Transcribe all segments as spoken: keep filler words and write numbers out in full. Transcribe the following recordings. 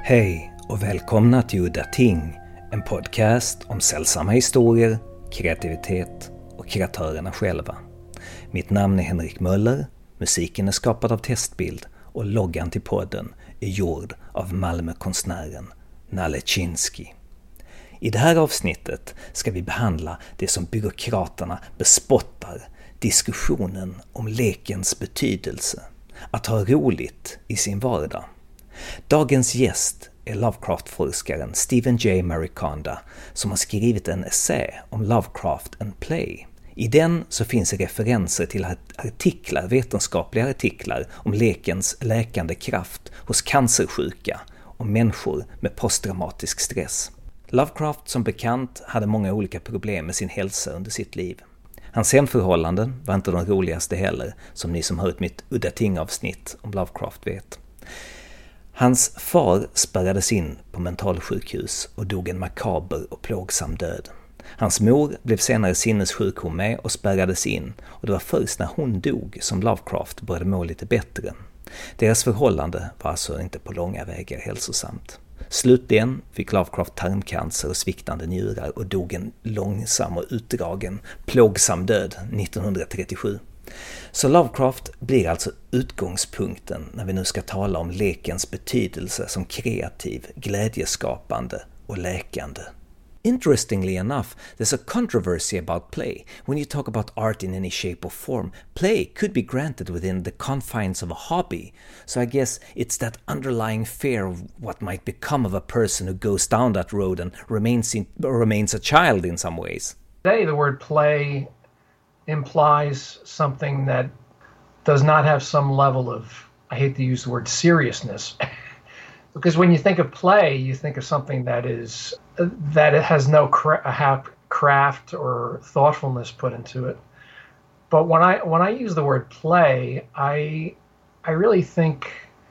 Hej och välkomna till Udda Ting, en podcast om sällsamma historier, kreativitet och kreatörerna själva. Mitt namn är Henrik Möller, musiken är skapad av Testbild och loggan till podden är gjord av Malmökonstnären Nalle Chinsky. I det här avsnittet ska vi behandla det som byråkraterna bespottar, diskussionen om lekens betydelse, att ha roligt i sin vardag. Dagens gäst är Lovecraft-forskaren Stephen J. Mariconda som har skrivit en essä om Lovecraft and Play. I den så finns referenser till artiklar, vetenskapliga artiklar om lekens läkande kraft hos cancersjuka och människor med posttraumatisk stress. Lovecraft som bekant hade många olika problem med sin hälsa under sitt liv. Hans hemförhållanden var inte de roligaste heller, som ni som hört mitt Udda Ting-avsnitt om Lovecraft vet. Hans far spärrades in på mentalsjukhus och dog en makaber och plågsam död. Hans mor blev senare sinnessjuk hon med och spärrades in, och det var först när hon dog som Lovecraft började må lite bättre. Deras förhållande var alltså inte på långa vägar hälsosamt. Slutligen fick Lovecraft tarmcancer och sviktande njurar och dog en långsam och utdragen, plågsam död nittonhundratrettiosju. Så Lovecraft blir alltså utgångspunkten när vi nu ska tala om lekens betydelse som kreativ, glädjeskapande och läkande. Interestingly enough, there's a controversy about play. When you talk about art in any shape or form, play could be granted within the confines of a hobby. So I guess it's that underlying fear of what might become of a person who goes down that road and remains in, remains a child in some ways. Today, the word play implies something that does not have some level of, I hate to use the word seriousness, because when you think of play, you think of something that is that it has no cra- craft or thoughtfulness put into it. But when I when I use the word play, I I really think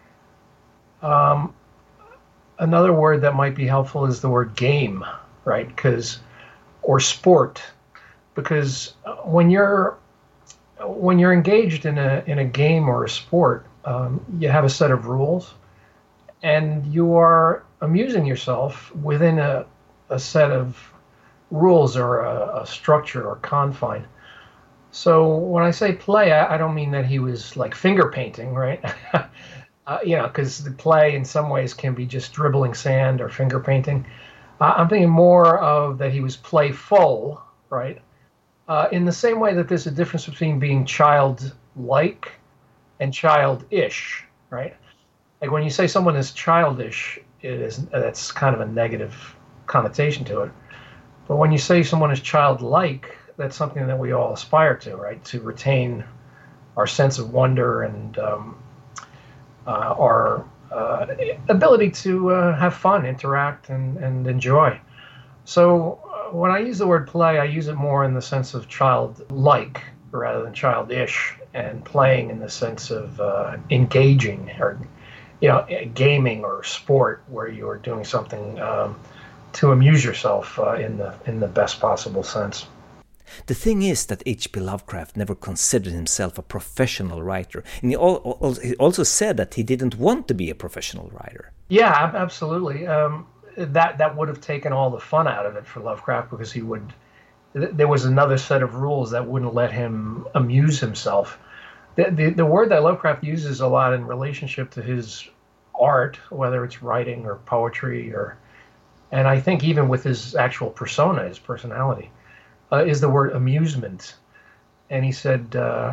um, another word that might be helpful is the word game, right? Because or sport. Because when you're when you're engaged in a in a game or a sport, um, you have a set of rules, and you are amusing yourself within a a set of rules or a, a structure or confine. So when I say play, I, I don't mean that he was like finger painting, right? uh, you know, because the play in some ways can be just dribbling sand or finger painting. Uh, I'm thinking more of that he was playful, right? Uh, in the same way that there's a difference between being childlike and childish, right? Like when you say someone is childish, it is that's kind of a negative connotation to it. But when you say someone is childlike, that's something that we all aspire to, right? To retain our sense of wonder and um, uh, our uh, ability to uh, have fun, interact, and, and enjoy. So when I use the word play, I use it more in the sense of childlike rather than childish, and playing in the sense of uh, engaging or, you know, gaming or sport where you are doing something um, to amuse yourself uh, in the in the best possible sense. The thing is that H P Lovecraft never considered himself a professional writer, and he also said that he didn't want to be a professional writer. Yeah, absolutely. Um, that that would have taken all the fun out of it for Lovecraft, because he would there was another set of rules that wouldn't let him amuse himself. The, the the word that Lovecraft uses a lot in relationship to his art, whether it's writing or poetry, or and I think even with his actual persona, his personality, uh, is the word amusement. And he said uh,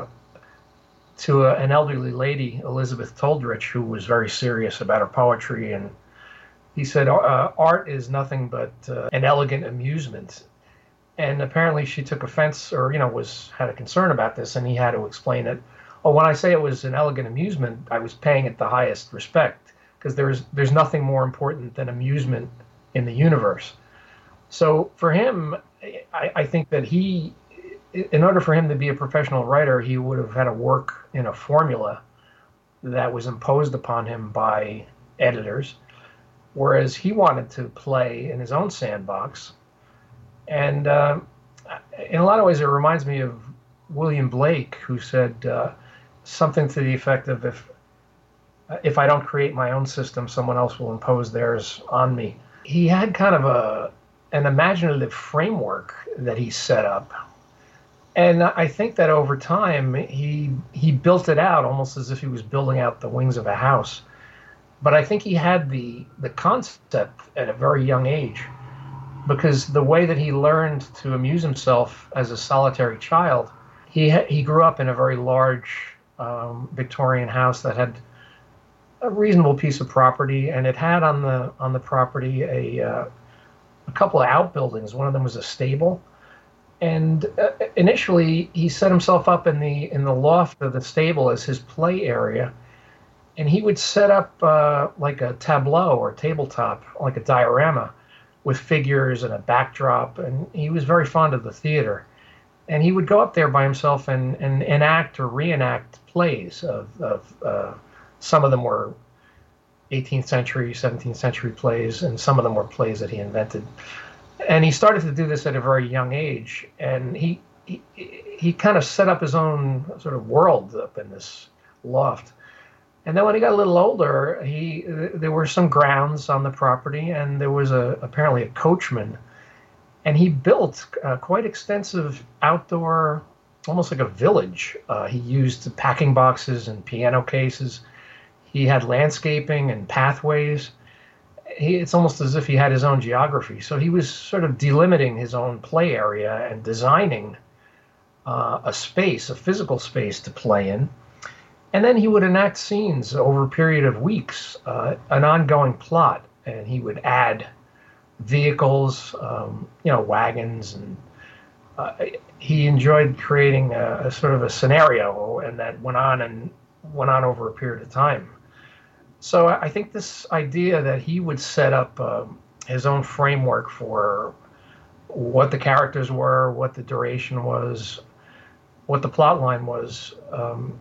to a, an elderly lady, Elizabeth Toldrich, who was very serious about her poetry, and he said, uh, art is nothing but uh, an elegant amusement. And apparently she took offense, or, you know, was had a concern about this, and he had to explain it. Oh, when I say it was an elegant amusement, I was paying it the highest respect, because there's there's nothing more important than amusement in the universe. So for him, I, I think that he, in order for him to be a professional writer, he would have had to work in a formula that was imposed upon him by editors, whereas he wanted to play in his own sandbox. And uh, in a lot of ways, it reminds me of William Blake, who said uh, something to the effect of, if uh, if I don't create my own system, someone else will impose theirs on me. He had kind of a an imaginative framework that he set up. And I think that over time, he he built it out almost as if he was building out the wings of a house. But I think he had the the concept at a very young age, because the way that he learned to amuse himself as a solitary child, he ha- he grew up in a very large um, Victorian house that had a reasonable piece of property, and it had on the on the property a uh, a couple of outbuildings. One of them was a stable. And uh, initially, he set himself up in the in the loft of the stable as his play area, and he would set up uh, like a tableau or tabletop, like a diorama, with figures and a backdrop. And he was very fond of the theater, and he would go up there by himself and, and enact or reenact plays. Of, of uh, some of them were eighteenth century, seventeenth century plays, and some of them were plays that he invented. And he started to do this at a very young age, and he he, he kind of set up his own sort of world up in this loft. And then when he got a little older, he there were some grounds on the property, and there was a apparently a coachman, and he built uh, quite extensive outdoor, almost like a village. Uh, he used packing boxes and piano cases. He had landscaping and pathways. He, it's almost as if he had his own geography. So he was sort of delimiting his own play area and designing uh, a space, a physical space to play in. And then he would enact scenes over a period of weeks, uh, an ongoing plot, and he would add vehicles, um, you know, wagons, and uh, he enjoyed creating a, a sort of a scenario, and that went on and went on over a period of time. So I think this idea that he would set up uh, his own framework for what the characters were, what the duration was, what the plot line was, um,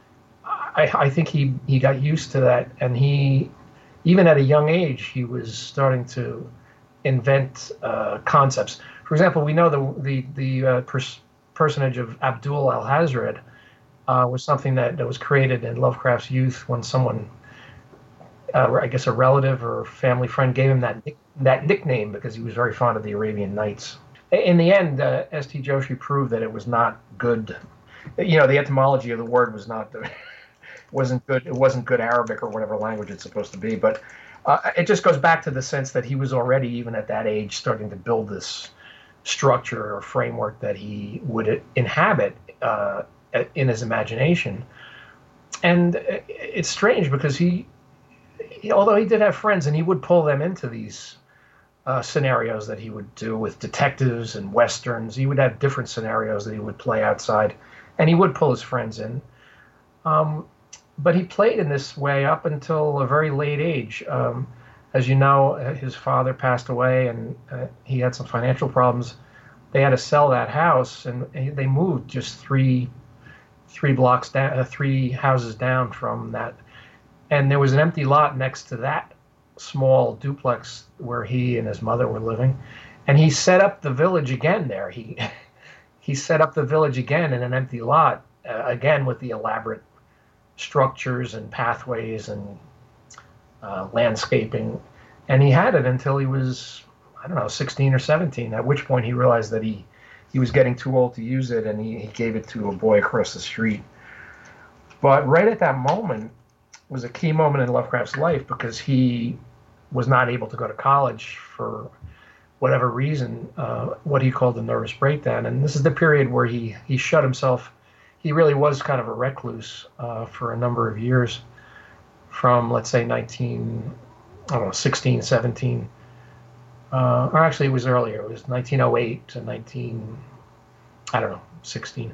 I, I think he, he got used to that. And he, even at a young age, he was starting to invent uh, concepts. For example, we know the, the, the uh, pers- personage of Abdul Alhazred uh, was something that, that was created in Lovecraft's youth when someone... Uh, I guess a relative or family friend gave him that that nickname because he was very fond of the Arabian Nights. In the end, uh, S T Joshi proved that it was not good. You know, the etymology of the word was not wasn't good. It wasn't good Arabic or whatever language it's supposed to be. But uh, it just goes back to the sense that he was already, even at that age, starting to build this structure or framework that he would inhabit uh, in his imagination. And it's strange because he. Although he did have friends, and he would pull them into these uh, scenarios that he would do with detectives and westerns. He would have different scenarios that he would play outside, and he would pull his friends in. Um, but he played in this way up until a very late age. Um, as you know, his father passed away, and uh, he had some financial problems. They had to sell that house, and they moved just three three blocks down, uh, three houses down from that. And there was an empty lot next to that small duplex where he and his mother were living. And he set up the village again there. He he set up the village again in an empty lot, uh, again with the elaborate structures and pathways and uh, landscaping. And he had it until he was, I don't know, sixteen or seventeen, at which point he realized that he, he was getting too old to use it, and he, he gave it to a boy across the street. But right at that moment, was a key moment in Lovecraft's life because he was not able to go to college for whatever reason, uh, what he called a nervous breakdown. And this is the period where he, he shut himself. He really was kind of a recluse uh, for a number of years from, let's say, nineteen, I don't know, sixteen, seventeen. Uh, or actually, it was earlier. It was nineteen oh eight to nineteen, I don't know, sixteen.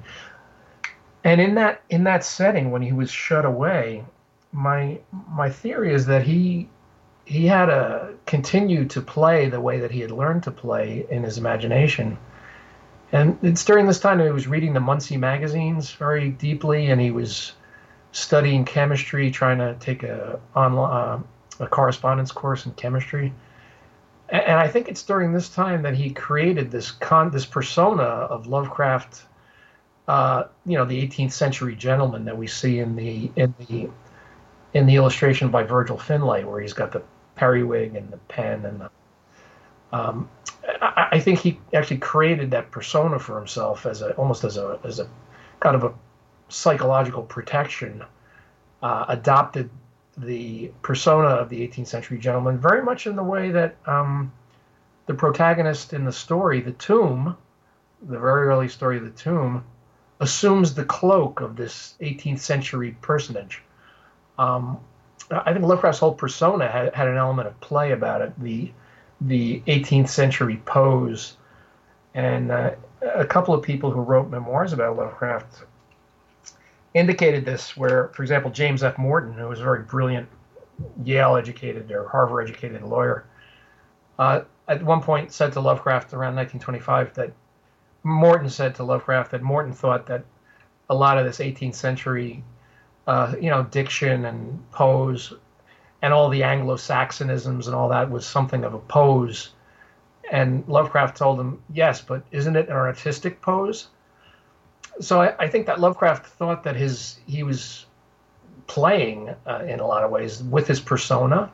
And in that in that setting, when he was shut away, My my theory is that he he had to continue to play the way that he had learned to play in his imagination. And it's during this time that he was reading the Muncie magazines very deeply, and he was studying chemistry, trying to take a online uh, a correspondence course in chemistry. And, and I think it's during this time that he created this con this persona of Lovecraft, uh, you know, the eighteenth century gentleman that we see in the in the in the illustration by Virgil Finlay, where he's got the periwig and the pen, and the, um, I, I think he actually created that persona for himself as a almost as a as a kind of a psychological protection. Uh, adopted the persona of the eighteenth century gentleman very much in the way that um, the protagonist in the story, the Tomb, the very early story of the Tomb, assumes the cloak of this eighteenth century personage. Um, I think Lovecraft's whole persona had, had an element of play about it, the the eighteenth century pose. And uh, a couple of people who wrote memoirs about Lovecraft indicated this, where, for example, James F. Morton, who was a very brilliant Yale-educated or Harvard-educated lawyer, uh, at one point said to Lovecraft around nineteen twenty-five that Morton said to Lovecraft that Morton thought that a lot of this eighteenth century, uh, you know, diction and pose and all the Anglo-Saxonisms and all that was something of a pose. And Lovecraft told him, yes, but isn't it an artistic pose? So I, I think that Lovecraft thought that his he was playing uh, in a lot of ways with his persona.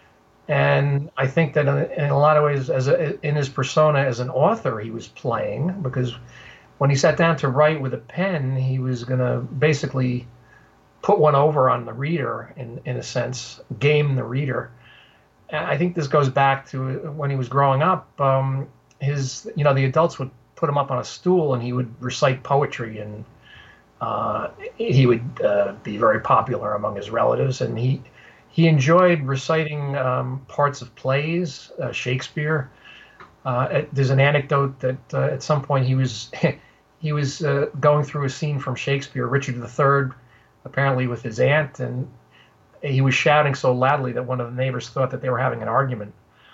And I think that in, in a lot of ways, as a, in his persona as an author, he was playing, because when he sat down to write with a pen, he was going to basically put one over on the reader, in, in a sense, game the reader. And I think this goes back to when he was growing up. Um, his, you know, the adults would put him up on a stool and he would recite poetry, and uh, he would uh, be very popular among his relatives. And he he enjoyed reciting um, parts of plays, uh, Shakespeare. Uh, there's an anecdote that uh, at some point he was he was uh, going through a scene from Shakespeare, Richard the Third, apparently with his aunt, and he was shouting so loudly that one of the neighbors thought that they were having an argument.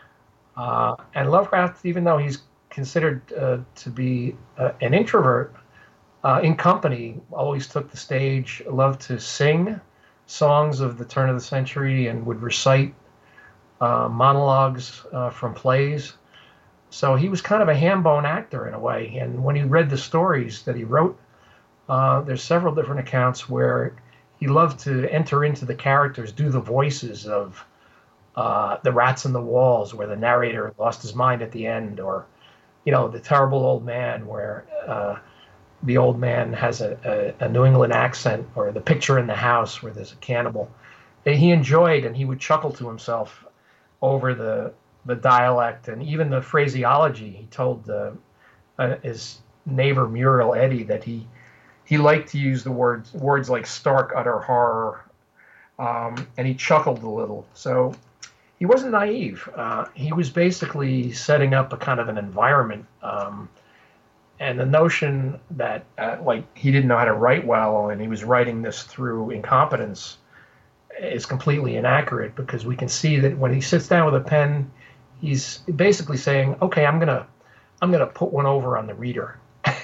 Uh, and Lovecraft, even though he's considered uh, to be uh, an introvert, uh, in company, always took the stage, loved to sing songs of the turn of the century, and would recite uh, monologues uh, from plays. So he was kind of a ham-bone actor in a way. And when he read the stories that he wrote, uh, there's several different accounts where he loved to enter into the characters, do the voices of uh, the rats in the walls, where the narrator lost his mind at the end, or, you know, the terrible old man, where uh, the old man has a, a, a New England accent, or the picture in the house where there's a cannibal. And he enjoyed, and he would chuckle to himself over the the dialect and even the phraseology. He told uh, uh, his neighbor Muriel Eddy that he he liked to use the words words like stark, utter horror, um, and he chuckled a little. So he wasn't naive. Uh, he was basically setting up a kind of an environment. Um, and the notion that uh, like he didn't know how to write well and he was writing this through incompetence is completely inaccurate, because we can see that when he sits down with a pen, he's basically saying, okay, I'm gonna I'm gonna put one over on the reader.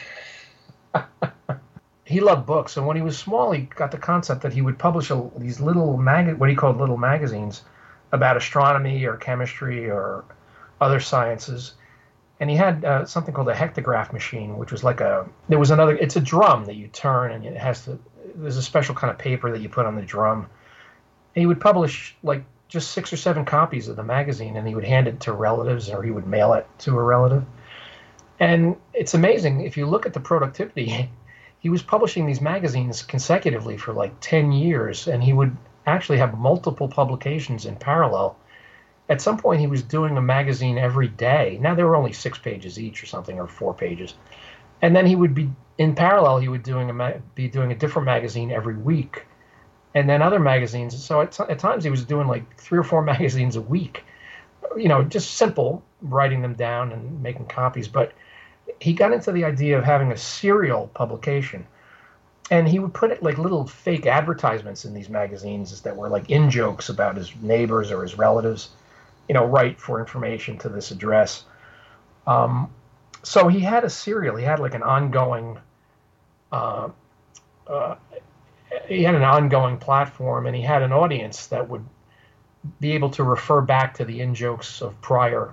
He loved books, and when he was small, he got the concept that he would publish a, these little mag what he called little magazines about astronomy or chemistry or other sciences. And he had uh, something called a hectograph machine, which was like a there was another. It's a drum that you turn, and it has to. There's a special kind of paper that you put on the drum. And he would publish like just six or seven copies of the magazine, and he would hand it to relatives, or he would mail it to a relative. And it's amazing if you look at the productivity. He was publishing these magazines consecutively for like ten years, and he would actually have multiple publications in parallel. At some point, he was doing a magazine every day. Now, they were only six pages each or something, or four pages. And then he would be, in parallel, he would doing a ma- be doing a different magazine every week, and then other magazines. So at, t- at times, he was doing like three or four magazines a week, you know, just simple, writing them down and making copies. But he got into the idea of having a serial publication, and he would put it like little fake advertisements in these magazines that were like in jokes about his neighbors or his relatives, you know, write for information to this address. Um, so he had a serial. He had like an ongoing, uh, uh, he had an ongoing platform, and he had an audience that would be able to refer back to the in jokes of prior.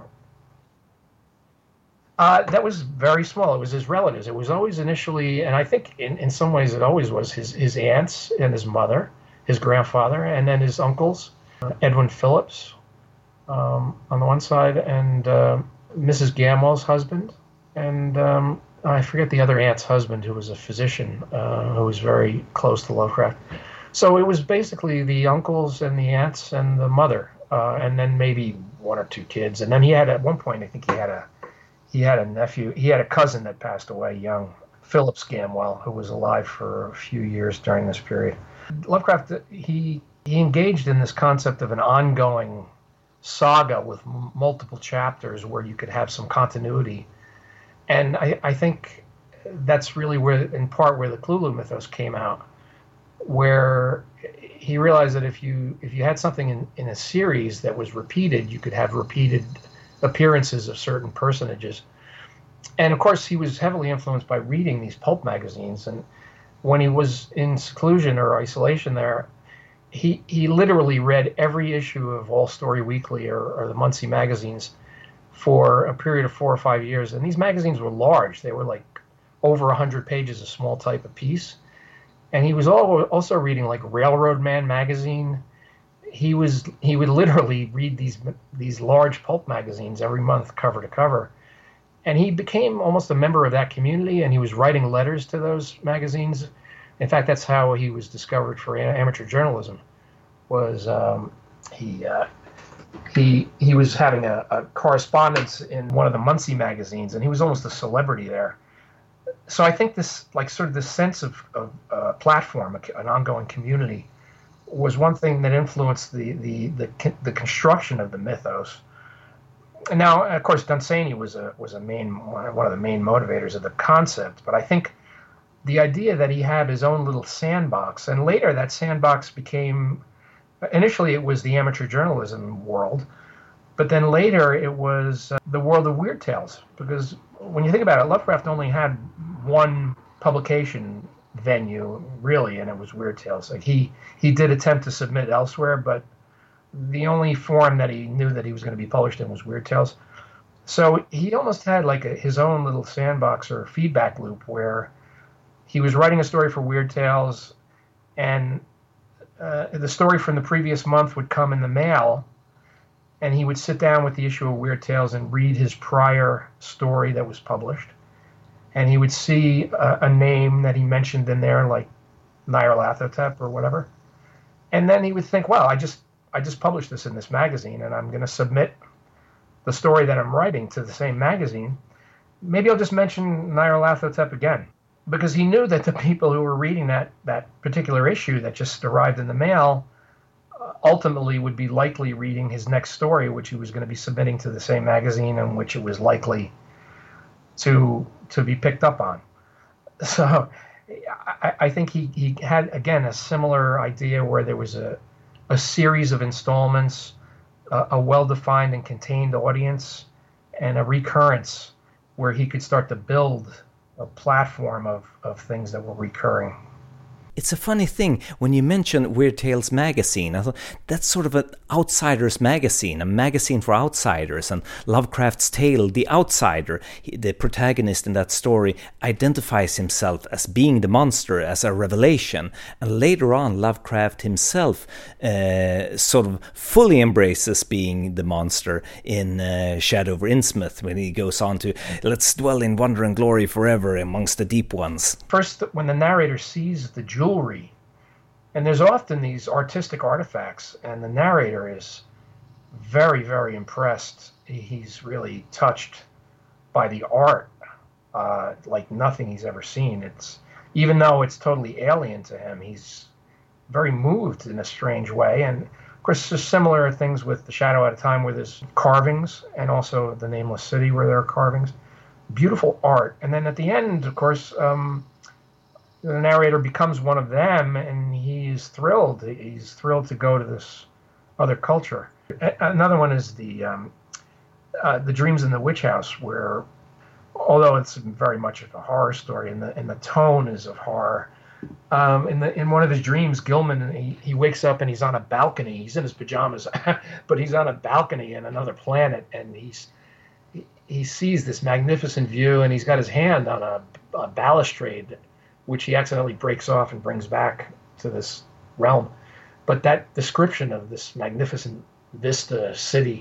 Uh, that was very small. It was his relatives. It was always initially, and I think in, in some ways it always was his, his aunts and his mother, his grandfather, and then his uncles, uh, Edwin Phillips um, on the one side, and uh, Missus Gamwell's husband, and um, I forget the other aunt's husband, who was a physician, uh, who was very close to Lovecraft. So it was basically the uncles and the aunts and the mother, uh, and then maybe one or two kids. And then he had, at one point, I think he had a he had a nephew, he had a cousin that passed away young, Phillips Gamwell, who was alive for a few years during this period. Lovecraft, he he engaged in this concept of an ongoing saga with m- multiple chapters where you could have some continuity. And I, I think that's really where, in part, where the Cthulhu mythos came out, where he realized that if you if you had something in, in a series that was repeated, you could have repeated appearances of certain personages. And of course, he was heavily influenced by reading these pulp magazines. And when he was in seclusion or isolation there, he he literally read every issue of All Story Weekly or, or the Muncie magazines for a period of four or five years. And these magazines were large. They were like over one hundred pages, a small type of piece. And he was also reading like Railroad Man magazine. He was he would literally read these these large pulp magazines every month, cover to cover. And he became almost a member of that community, and he was writing letters to those magazines. In fact, that's how he was discovered for amateur journalism. Was um, he uh, he he was having a, a correspondence in one of the Muncie magazines, and he was almost a celebrity there. So I think this, like, sort of this sense of, of uh, platform, an ongoing community, was one thing that influenced the the the, the construction of the mythos. And now, of course, Dunsany was a was a main one of the main motivators of the concept. But I think the idea that he had his own little sandbox, and later that sandbox became, initially it was the amateur journalism world, but then later it was uh, the world of weird tales. Because when you think about it, Lovecraft only had one publication venue, really, and it was Weird Tales. Like he he did attempt to submit elsewhere, but the only form that he knew that he was going to be published in was Weird Tales. So he almost had like a, his own little sandbox or feedback loop where he was writing a story for Weird Tales, and uh, the story from the previous month would come in the mail, and he would sit down with the issue of Weird Tales and read his prior story that was published. And he would see a, a name that he mentioned in there, like Nyarlathotep or whatever. And then he would think, well, I just I just published this in this magazine, and I'm going to submit the story that I'm writing to the same magazine. Maybe I'll just mention Nyarlathotep again. Because he knew that the people who were reading that, that particular issue that just arrived in the mail uh, ultimately would be likely reading his next story, which he was going to be submitting to the same magazine, and which it was likely to to be picked up on. So I, I think he, he had, again, a similar idea where there was a, a series of installments, a, a well-defined and contained audience, and a recurrence where he could start to build a platform of, of things that were recurring. It's a funny thing, when you mention Weird Tales magazine, I thought that's sort of an outsider's magazine, a magazine for outsiders, and Lovecraft's tale, The Outsider, he, the protagonist in that story, identifies himself as being the monster, as a revelation, and later on Lovecraft himself uh, sort of fully embraces being the monster in uh, Shadow over Innsmouth, when he goes on to, let's dwell in wonder and glory forever amongst the deep ones. First, when the narrator sees the jewel jewelry, and there's often these artistic artifacts, and the narrator is very, very impressed. He's really touched by the art uh, like nothing he's ever seen. It's, even though it's totally alien to him, he's very moved in a strange way. And of course, there's similar things with The Shadow at a Time, where there's carvings, and also The Nameless City, where there are carvings. Beautiful art. And then at the end, of course, um, the narrator becomes one of them, and he's thrilled. He's thrilled to go to this other culture. Another one is the um, uh, the Dreams in the Witch House, where, although it's very much of a horror story, and the and the tone is of horror. Um, in the in one of his dreams, Gilman he, he wakes up and he's on a balcony. He's in his pajamas, but he's on a balcony in another planet, and he's he, he sees this magnificent view, and he's got his hand on a, a balustrade, which he accidentally breaks off and brings back to this realm. But that description of this magnificent vista city,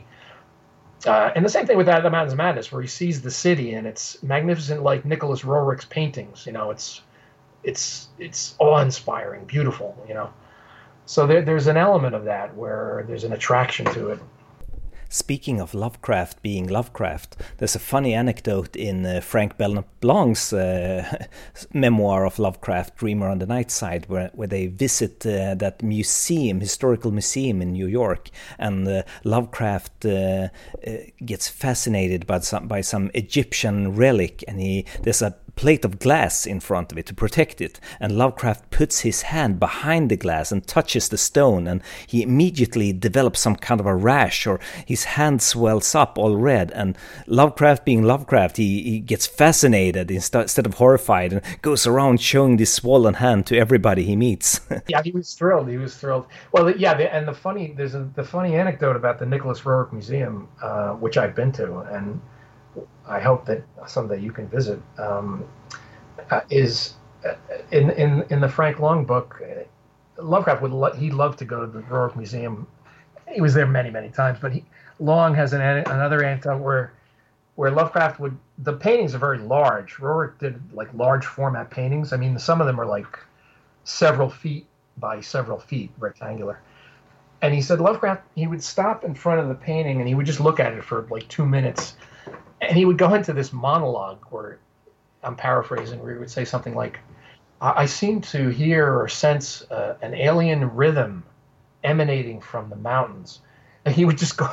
uh, and the same thing with that, the Mountains of Madness, where he sees the city and it's magnificent, like Nicholas Roerich's paintings. You know, it's it's it's awe-inspiring, beautiful. You know, so there, there's an element of that where there's an attraction to it. Speaking of Lovecraft being Lovecraft, there's a funny anecdote in uh, Frank Belknap-Blanc's uh, memoir of Lovecraft, Dreamer on the Night Side, where, where they visit uh, that museum, historical museum in New York, and uh, Lovecraft uh, uh, gets fascinated by some, by some Egyptian relic, and he there's a plate of glass in front of it to protect it, and Lovecraft puts his hand behind the glass and touches the stone, and he immediately develops some kind of a rash, or his hand swells up all red. And Lovecraft being Lovecraft, he, he gets fascinated instead of horrified, and goes around showing this swollen hand to everybody he meets. Yeah, he was thrilled. He was thrilled. Well, yeah, the, and the funny there's a, the funny anecdote about the Nicholas Roerich Museum, uh, which I've been to, and I hope that someday you can visit, um, uh, is uh, in, in in the Frank Long book, uh, Lovecraft would lo- he loved to go to the Roerich Museum. He was there many, many times, but he, Long has an another anecdote where where Lovecraft would, the paintings are very large. Roerich did like large format paintings. I mean, some of them are like several feet by several feet, rectangular. And he said Lovecraft, he would stop in front of the painting and he would just look at it for like two minutes. And he would go into this monologue where, I'm paraphrasing, where he would say something like, I, I seem to hear or sense uh, an alien rhythm emanating from the mountains. And he would just go,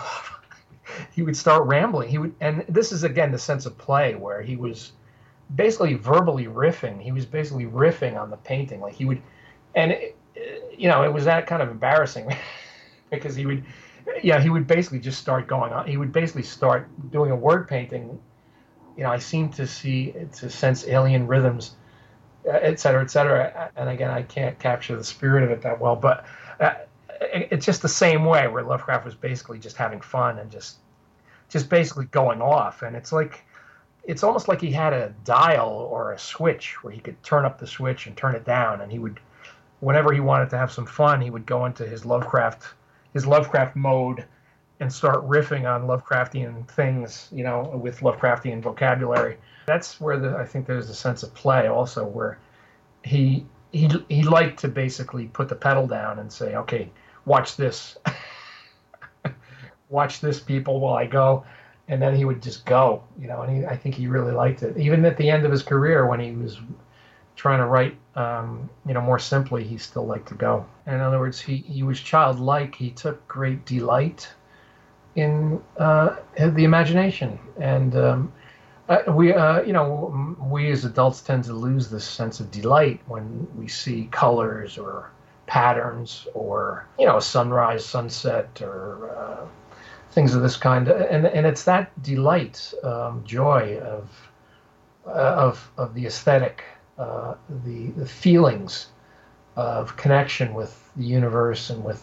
he would start rambling. He would, and this is, again, the sense of play where he was basically verbally riffing. He was basically riffing on the painting. Like he would, and, it, you know, it was that kind of embarrassing because he would, yeah, he would basically just start going on. He would basically start doing a word painting. You know, I seem to see, to sense alien rhythms, et cetera, et cetera. And again, I can't capture the spirit of it that well, but uh, it's just the same way where Lovecraft was basically just having fun and just, just basically going off. And it's like, it's almost like he had a dial or a switch where he could turn up the switch and turn it down. And he would, whenever he wanted to have some fun, he would go into his Lovecraft his Lovecraft mode and start riffing on Lovecraftian things, you know, with Lovecraftian vocabulary. That's where the, I think there's a sense of play also, where he he he liked to basically put the pedal down and say, okay, watch this. Watch this, people, while I go. And then he would just go, you know, and he, I think he really liked it. Even at the end of his career, when he was trying to write, um, you know, more simply, he still liked to go. In other words, he, he was childlike. He took great delight in uh, the imagination. And um, uh, we, uh, you know, we as adults tend to lose this sense of delight when we see colors or patterns or, you know, a sunrise, sunset, or uh, things of this kind. And, and it's that delight, um, joy of, uh, of, of the aesthetic, Uh, the, the feelings of connection with the universe and with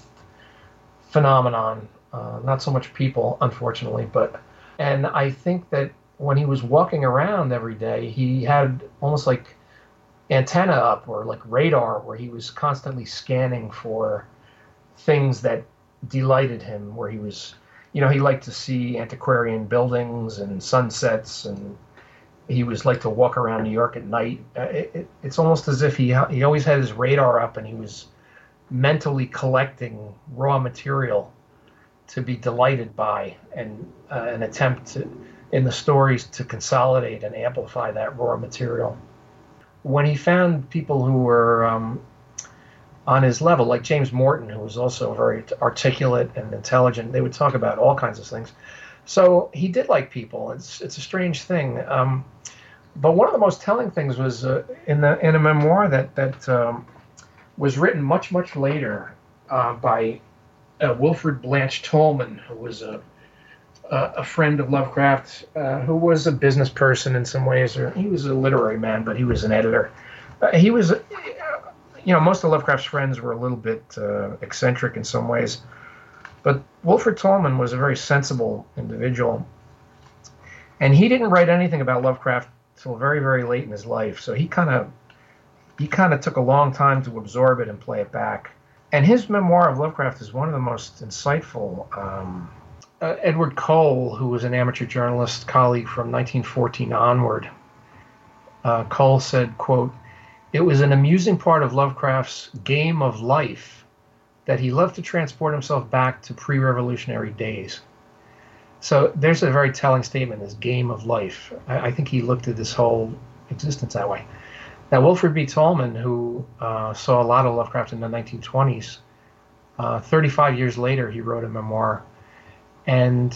phenomenon, uh, not so much people, unfortunately, but, and I think that when he was walking around every day, he had almost like antenna up or like radar where he was constantly scanning for things that delighted him, where he was, you know, he liked to see antiquarian buildings and sunsets, and he was like to walk around New York at night. Uh, it, it, it's almost as if he he always had his radar up and he was mentally collecting raw material to be delighted by, and uh, an attempt to, in the stories to consolidate and amplify that raw material. When he found people who were um, on his level, like James Morton, who was also very articulate and intelligent, they would talk about all kinds of things. So he did like people. It's it's a strange thing. Um, but one of the most telling things was uh, in the in a memoir that that um, was written much much later uh, by uh, Wilfrid Blanche Tolman, who was a a, a friend of Lovecraft, uh, who was a business person in some ways, or he was a literary man, but he was an editor. Uh, he was, uh, you know, most of Lovecraft's friends were a little bit uh, eccentric in some ways. But Wilfrid Tolman was a very sensible individual, and he didn't write anything about Lovecraft till very, very late in his life. So he kind of he kind of took a long time to absorb it and play it back. And his memoir of Lovecraft is one of the most insightful. Um, uh, Edward Cole, who was an amateur journalist colleague from nineteen fourteen onward, uh, Cole said, quote, "It was an amusing part of Lovecraft's game of life that he loved to transport himself back to pre-revolutionary days." So there's a very telling statement, this game of life. I, I think he looked at this whole existence that way. Now, Wilfred B. Tolman, who uh, saw a lot of Lovecraft in the nineteen twenties, uh, thirty-five years later, he wrote a memoir. And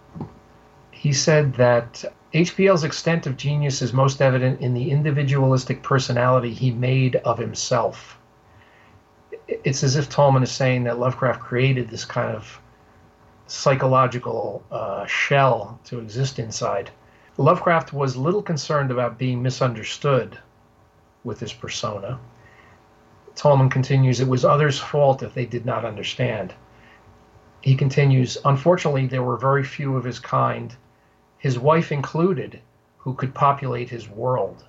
he said that H P L's extent of genius is most evident in the individualistic personality he made of himself. It's as if Tolman is saying that Lovecraft created this kind of psychological uh, shell to exist inside. Lovecraft was little concerned about being misunderstood with his persona. Tolman continues, "It was others' fault if they did not understand." He continues, "Unfortunately, there were very few of his kind, his wife included, who could populate his world."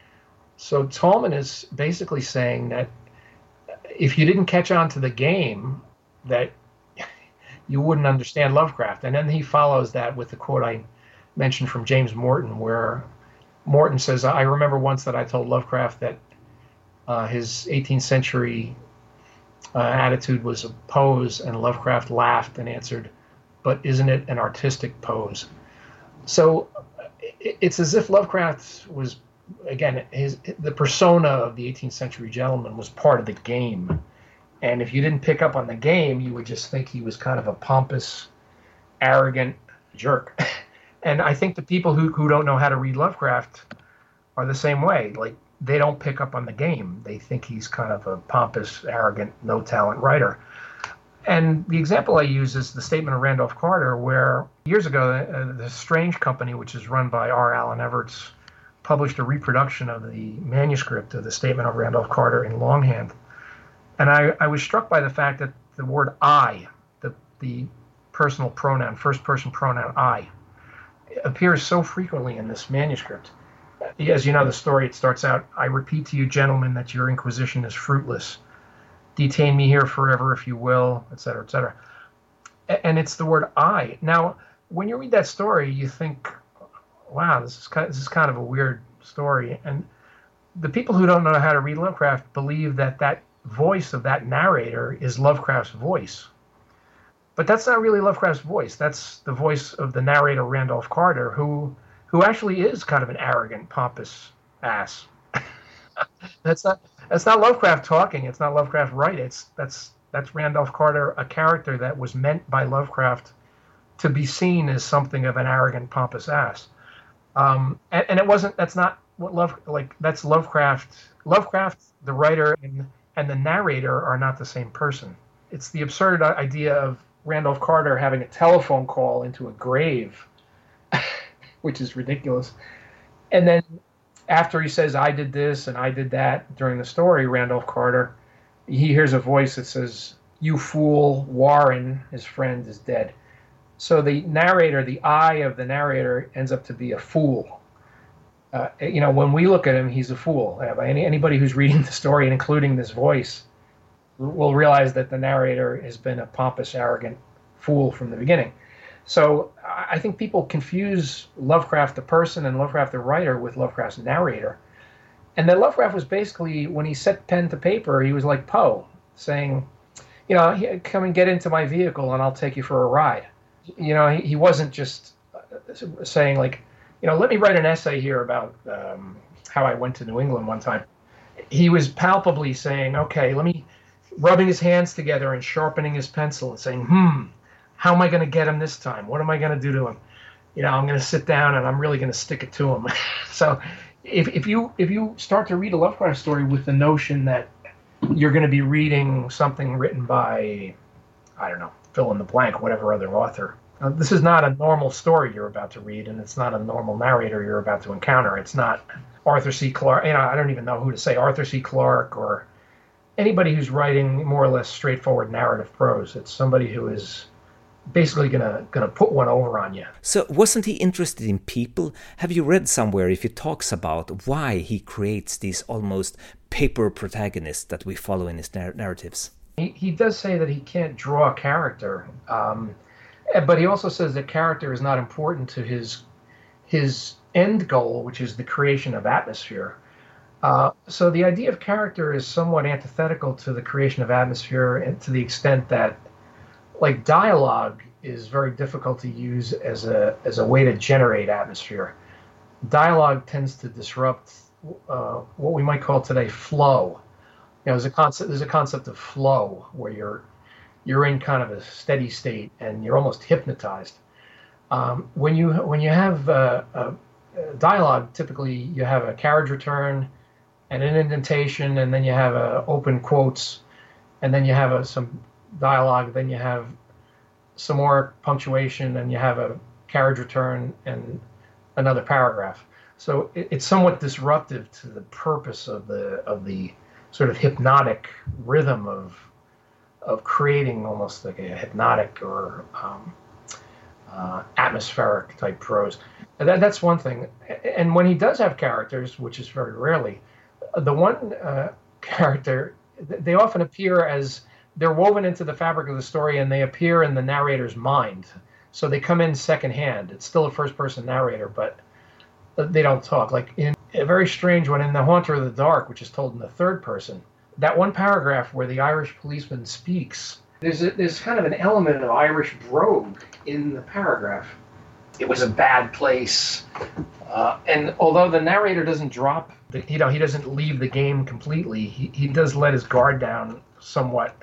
So Tolman is basically saying that if you didn't catch on to the game, that you wouldn't understand Lovecraft. And then he follows that with the quote I mentioned from James Morton, where Morton says, "I remember once that I told Lovecraft that uh, his eighteenth century uh, attitude was a pose, and Lovecraft laughed and answered, 'But isn't it an artistic pose?'" So it's as if Lovecraft was, again, his the persona of the eighteenth century gentleman was part of the game. And if you didn't pick up on the game, you would just think he was kind of a pompous, arrogant jerk. And I think the people who, who don't know how to read Lovecraft are the same way. Like, they don't pick up on the game. They think he's kind of a pompous, arrogant, no-talent writer. And the example I use is the statement of Randolph Carter, where years ago, uh, the Strange Company, which is run by R. Alan Everts, published a reproduction of the manuscript of the statement of Randolph Carter in longhand. And I, I was struck by the fact that the word I, the, the personal pronoun, first-person pronoun I, appears so frequently in this manuscript. As you know, the story, it starts out, "I repeat to you, gentlemen, that your inquisition is fruitless. Detain me here forever if you will," et cetera, et cetera. And it's the word I. Now, when you read that story, you think, wow, this is kind of, this is kind of a weird story. And the people who don't know how to read Lovecraft believe that that voice of that narrator is Lovecraft's voice. But that's not really Lovecraft's voice. That's the voice of the narrator, Randolph Carter, who who actually is kind of an arrogant, pompous ass. that's not that's not Lovecraft talking. It's not Lovecraft writing. It's that's that's Randolph Carter, a character that was meant by Lovecraft to be seen as something of an arrogant, pompous ass. Um, and, and it wasn't. That's not what Love like. That's Lovecraft. Lovecraft, the writer, and and the narrator are not the same person. It's the absurd idea of Randolph Carter having a telephone call into a grave, which is ridiculous. And then after he says, "I did this and I did that," during the story, Randolph Carter, he hears a voice that says, "You fool, Warren, his friend, is dead." So the narrator, the I of the narrator, ends up to be a fool. Uh, you know, when we look at him, he's a fool. Any, anybody who's reading the story and including this voice will realize that the narrator has been a pompous, arrogant fool from the beginning. So I think people confuse Lovecraft the person and Lovecraft the writer with Lovecraft's narrator. And then Lovecraft was basically, when he set pen to paper, he was like Poe, saying, you know, "Come and get into my vehicle and I'll take you for a ride." You know, he, he wasn't just saying, like, you know, let me write an essay here about um, how I went to New England one time. He was palpably saying, okay, let me, rubbing his hands together and sharpening his pencil and saying, hmm, how am I going to get him this time? What am I going to do to him? You know, I'm going to sit down and I'm really going to stick it to him. So if, if you if you start to read a Lovecraft story with the notion that you're going to be reading something written by, I don't know, fill in the blank, whatever other author, uh, this is not a normal story you're about to read, and it's not a normal narrator you're about to encounter. It's not Arthur C. Clarke. You know, I don't even know who to say, Arthur C. Clarke or anybody who's writing more or less straightforward narrative prose. It's somebody who is basically gonna gonna put one over on you. So wasn't he interested in people? Have you read somewhere if he talks about why he creates these almost paper protagonists that we follow in his narr- narratives? He, he does say that he can't draw a character, um, but he also says that character is not important to his his end goal, which is the creation of atmosphere. Uh, so the idea of character is somewhat antithetical to the creation of atmosphere, and to the extent that, like, dialogue is very difficult to use as a as a way to generate atmosphere. Dialogue tends to disrupt uh, what we might call today flow. You know, there's a concept there's a concept of flow where you're you're in kind of a steady state and you're almost hypnotized. Um, when you when you have uh, a dialogue, typically you have a carriage return and an indentation, and then you have a open quotes, and then you have a, some dialogue, then you have some more punctuation, and you have a carriage return and another paragraph. So it, it's somewhat disruptive to the purpose of the of the sort of hypnotic rhythm of of creating almost like a hypnotic or um, uh, atmospheric type prose. And that, that's one thing. And when he does have characters, which is very rarely, the one uh, character, they often appear as they're woven into the fabric of the story, and they appear in the narrator's mind. So they come in secondhand. It's still a first-person narrator, but they don't talk. Like in a very strange one, in The Haunter of the Dark, which is told in the third person, that one paragraph where the Irish policeman speaks, there's a, there's kind of an element of Irish brogue in the paragraph. It was a bad place. Uh, and although the narrator doesn't drop, the, you know, he doesn't leave the game completely, he, he does let his guard down somewhat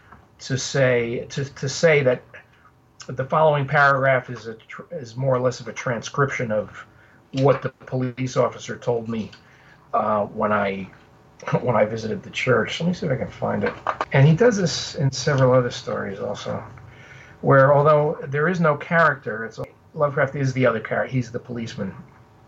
to say to, to say that the following paragraph is a is more or less of a transcription of what the police officer told me uh, when I when I visited the church. Let me see if I can find it. And he does this in several other stories also, where although there is no character, it's Lovecraft is the other character. He's the policeman.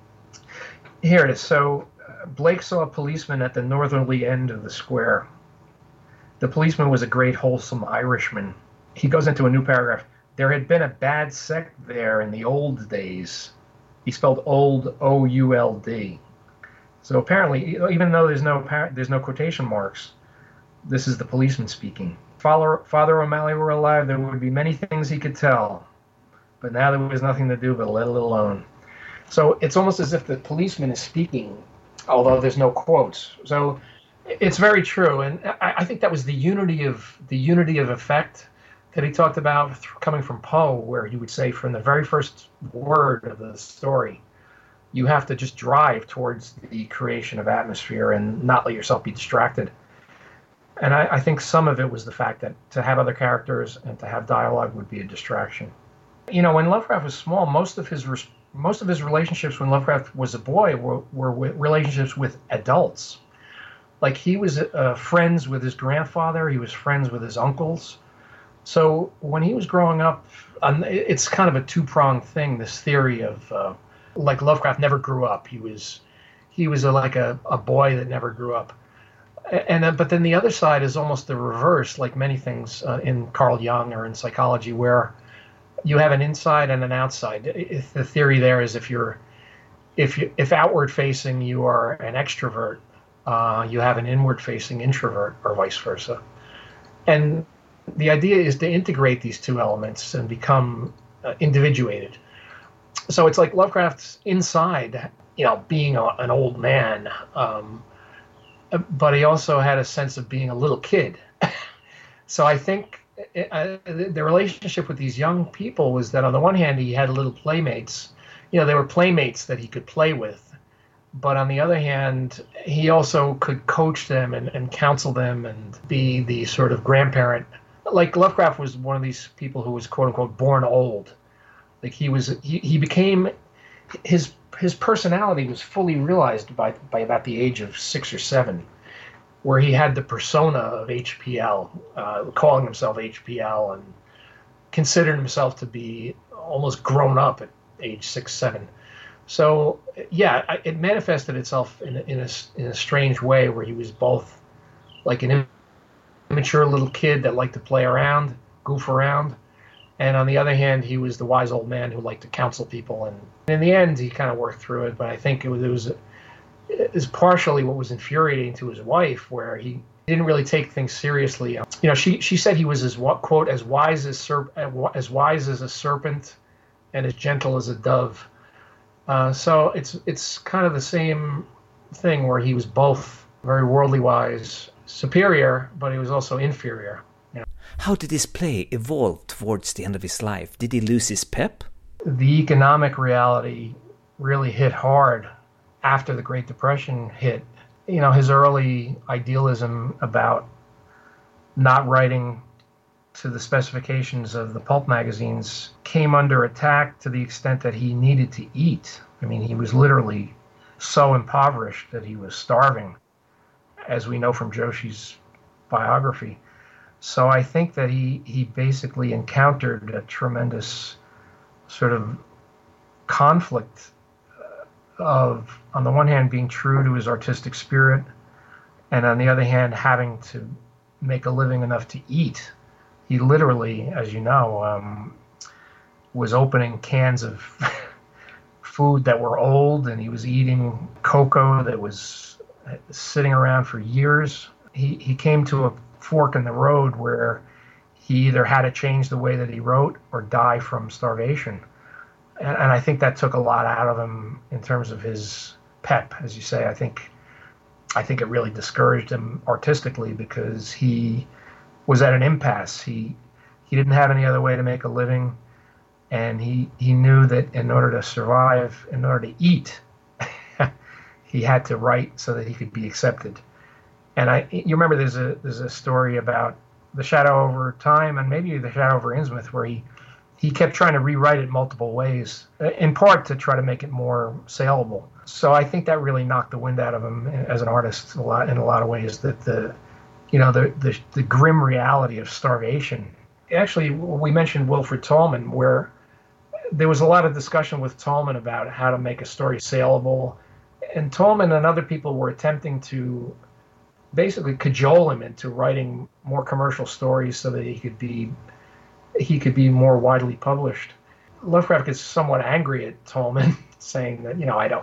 Here it is. So uh, Blake saw a policeman at the northerly end of the square. The policeman was a great, wholesome Irishman. He goes into a new paragraph. There had been a bad sect there in the old days. He spelled old, O U L D. So apparently, even though there's no par- there's no quotation marks, this is the policeman speaking. Father, Father O'Malley were alive, there would be many things he could tell. But now there was nothing to do but let it alone. So it's almost as if the policeman is speaking, although there's no quotes. So it's very true, and I, I think that was the unity of the unity of effect that he talked about coming from Poe, where he would say from the very first word of the story, you have to just drive towards the creation of atmosphere and not let yourself be distracted. And I, I think some of it was the fact that to have other characters and to have dialogue would be a distraction. You know, when Lovecraft was small, most of his most of his relationships when Lovecraft was a boy were, were with relationships with adults. Like he was uh, friends with his grandfather, he was friends with his uncles. So when he was growing up, um, it's kind of a two-pronged thing. This theory of uh, like Lovecraft never grew up. He was he was a, like a, a boy that never grew up. And then, but then the other side is almost the reverse, like many things uh, in Carl Jung or in psychology, where you have an inside and an outside. If the theory there is if you're if you if outward facing you are an extrovert, uh, you have an inward facing introvert, or vice versa. And the idea is to integrate these two elements and become uh, individuated. So it's like Lovecraft's inside, you know, being a, an old man, um, but he also had a sense of being a little kid. So I think it, uh, the relationship with these young people was that on the one hand, he had little playmates. You know, they were playmates that he could play with. But on the other hand, he also could coach them and, and counsel them and be the sort of grandparent. Like Lovecraft was one of these people who was quote unquote born old. Like he was, he, he became, his his personality was fully realized by by about the age of six or seven, where he had the persona of H P L, uh, calling himself H P L and considered himself to be almost grown up at age six, seven. So yeah, it manifested itself in a, in a in a strange way, where he was both like an immature little kid that liked to play around, goof around, and on the other hand, he was the wise old man who liked to counsel people. And in the end, he kind of worked through it. But I think it was it was, it was partially what was infuriating to his wife, where he He didn't really take things seriously. You know, she she said he was as quote as wise as serp as wise as a serpent, and as gentle as a dove. Uh, so it's it's kind of the same thing where he was both very worldly wise, superior, but he was also inferior. You know? How did his play evolve towards the end of his life? Did he lose his pep? The economic reality really hit hard after the Great Depression hit. You know, his early idealism about not writing to the specifications of the pulp magazines came under attack to the extent that he needed to eat. I mean, he was literally so impoverished that he was starving, as we know from Joshi's biography. So I think that he, he basically encountered a tremendous sort of conflict of, on the one hand, being true to his artistic spirit, and on the other hand, having to make a living enough to eat. He literally, as you know, um, was opening cans of food that were old, and he was eating cocoa that was sitting around for years. He, he came to a fork in the road where he either had to change the way that he wrote or die from starvation. And, and I think that took a lot out of him in terms of his pep, as you say. I think I think it really discouraged him artistically because he was at an impasse. He he didn't have any other way to make a living, and he he knew that in order to survive, in order to eat, he had to write so that he could be accepted. And I you remember there's a there's a story about The Shadow Over Time and maybe The Shadow Over Innsmouth where he He kept trying to rewrite it multiple ways, in part to try to make it more saleable. So I think that really knocked the wind out of him as an artist a lot, in a lot of ways. That the, you know, the the, the grim reality of starvation. Actually, we mentioned Wilfred Tolman, where there was a lot of discussion with Tolman about how to make a story saleable, and Tolman and other people were attempting to basically cajole him into writing more commercial stories so that he could be. he could be more widely published. Lovecraft gets somewhat angry at Tolman, saying that, you know, I don't,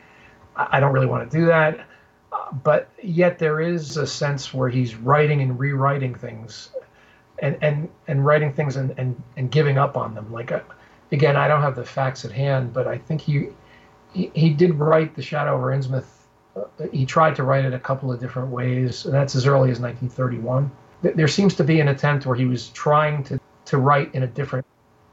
I don't really want to do that. Uh, but yet there is a sense where he's writing and rewriting things, and and, and writing things and, and, and giving up on them. Like, uh, again, I don't have the facts at hand, but I think he he, he did write The Shadow Over Innsmouth. Uh, he tried to write it a couple of different ways, and that's as early as nineteen thirty-one. There seems to be an attempt where he was trying to to write in a different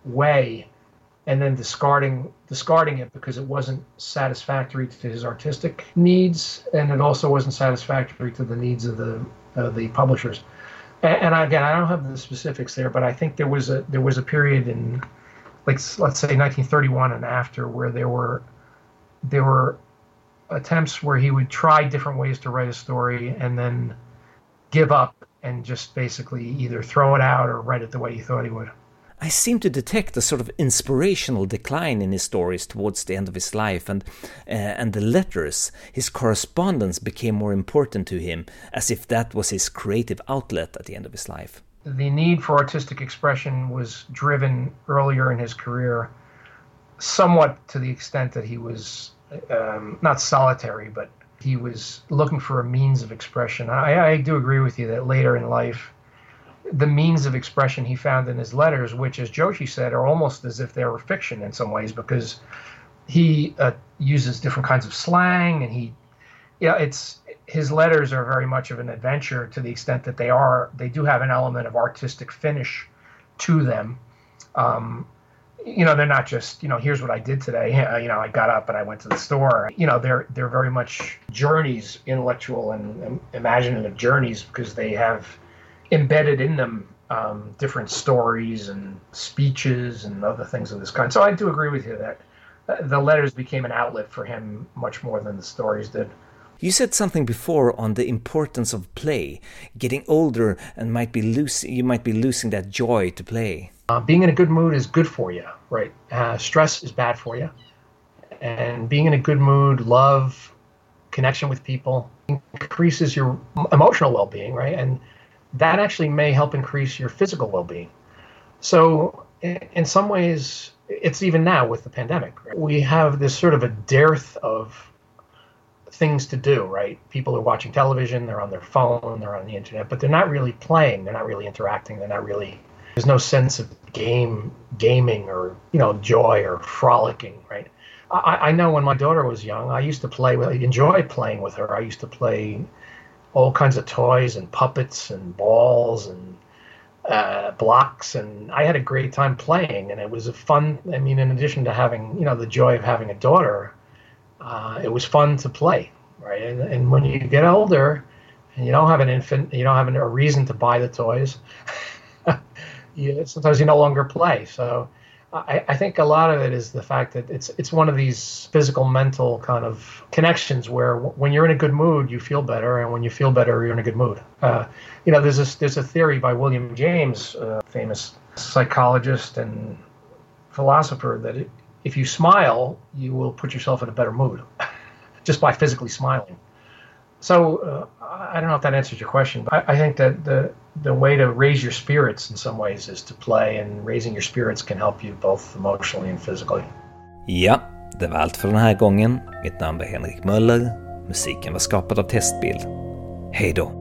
way and then discarding discarding it because it wasn't satisfactory to his artistic needs, and it also wasn't satisfactory to the needs of the uh, the publishers. And, and again, I don't have the specifics there, but I think there was a there was a period in, like, let's say nineteen thirty-one and after, where there were there were attempts where he would try different ways to write a story and then give up and just basically either throw it out or write it the way he thought he would. I seem to detect a sort of inspirational decline in his stories towards the end of his life, and uh, and the letters, his correspondence became more important to him, as if that was his creative outlet at the end of his life. The need for artistic expression was driven earlier in his career, somewhat to the extent that he was um, not solitary, but he was looking for a means of expression. I, I do agree with you that later in life, the means of expression he found in his letters, which, as Joshi said, are almost as if they were fiction in some ways, because he uh, uses different kinds of slang, and he, yeah, it's his letters are very much of an adventure to the extent that they are. They do have an element of artistic finish to them. Um, You know, they're not just, you know, here's what I did today. You know, I got up and I went to the store. You know, they're they're very much journeys, intellectual and, and imaginative journeys, because they have embedded in them um, different stories and speeches and other things of this kind. So I do agree with you that the letters became an outlet for him much more than the stories did. You said something before on the importance of play. Getting older and might be losing, you might be losing that joy to play. Uh, being in a good mood is good for you, right? Uh, stress is bad for you. And being in a good mood, love, connection with people, increases your emotional well-being, right? And that actually may help increase your physical well-being. So in some ways, it's even now with the pandemic, right? We have this sort of a dearth of things to do, right? People are watching television, they're on their phone, they're on the internet, but they're not really playing, they're not really interacting, they're not really, there's no sense of game, gaming or, you know, joy or frolicking, right? I, I know when my daughter was young, I used to play with, I enjoyed playing with her. I used to play all kinds of toys and puppets and balls and uh, blocks, and I had a great time playing, and it was a fun, I mean, in addition to having, you know, the joy of having a daughter, uh, it was fun to play, right? And, and when you get older and you don't have an infant, you don't have a reason to buy the toys, you, sometimes you no longer play. So I, I think a lot of it is the fact that it's it's one of these physical, mental kind of connections where w- when you're in a good mood, you feel better, and when you feel better, you're in a good mood. Uh, you know, there's this, there's a theory by William James, a famous psychologist and philosopher, that it, if you smile, you will put yourself in a better mood just by physically smiling. So uh, I don't know if that answers your question, but I, I think that the the way to raise your spirits in some ways is to play, and raising your spirits can help you both emotionally and physically. Ja, det var allt för den här gången. Mitt namn är Henrik Möller. Musiken var skapad av Testbild. Hej då!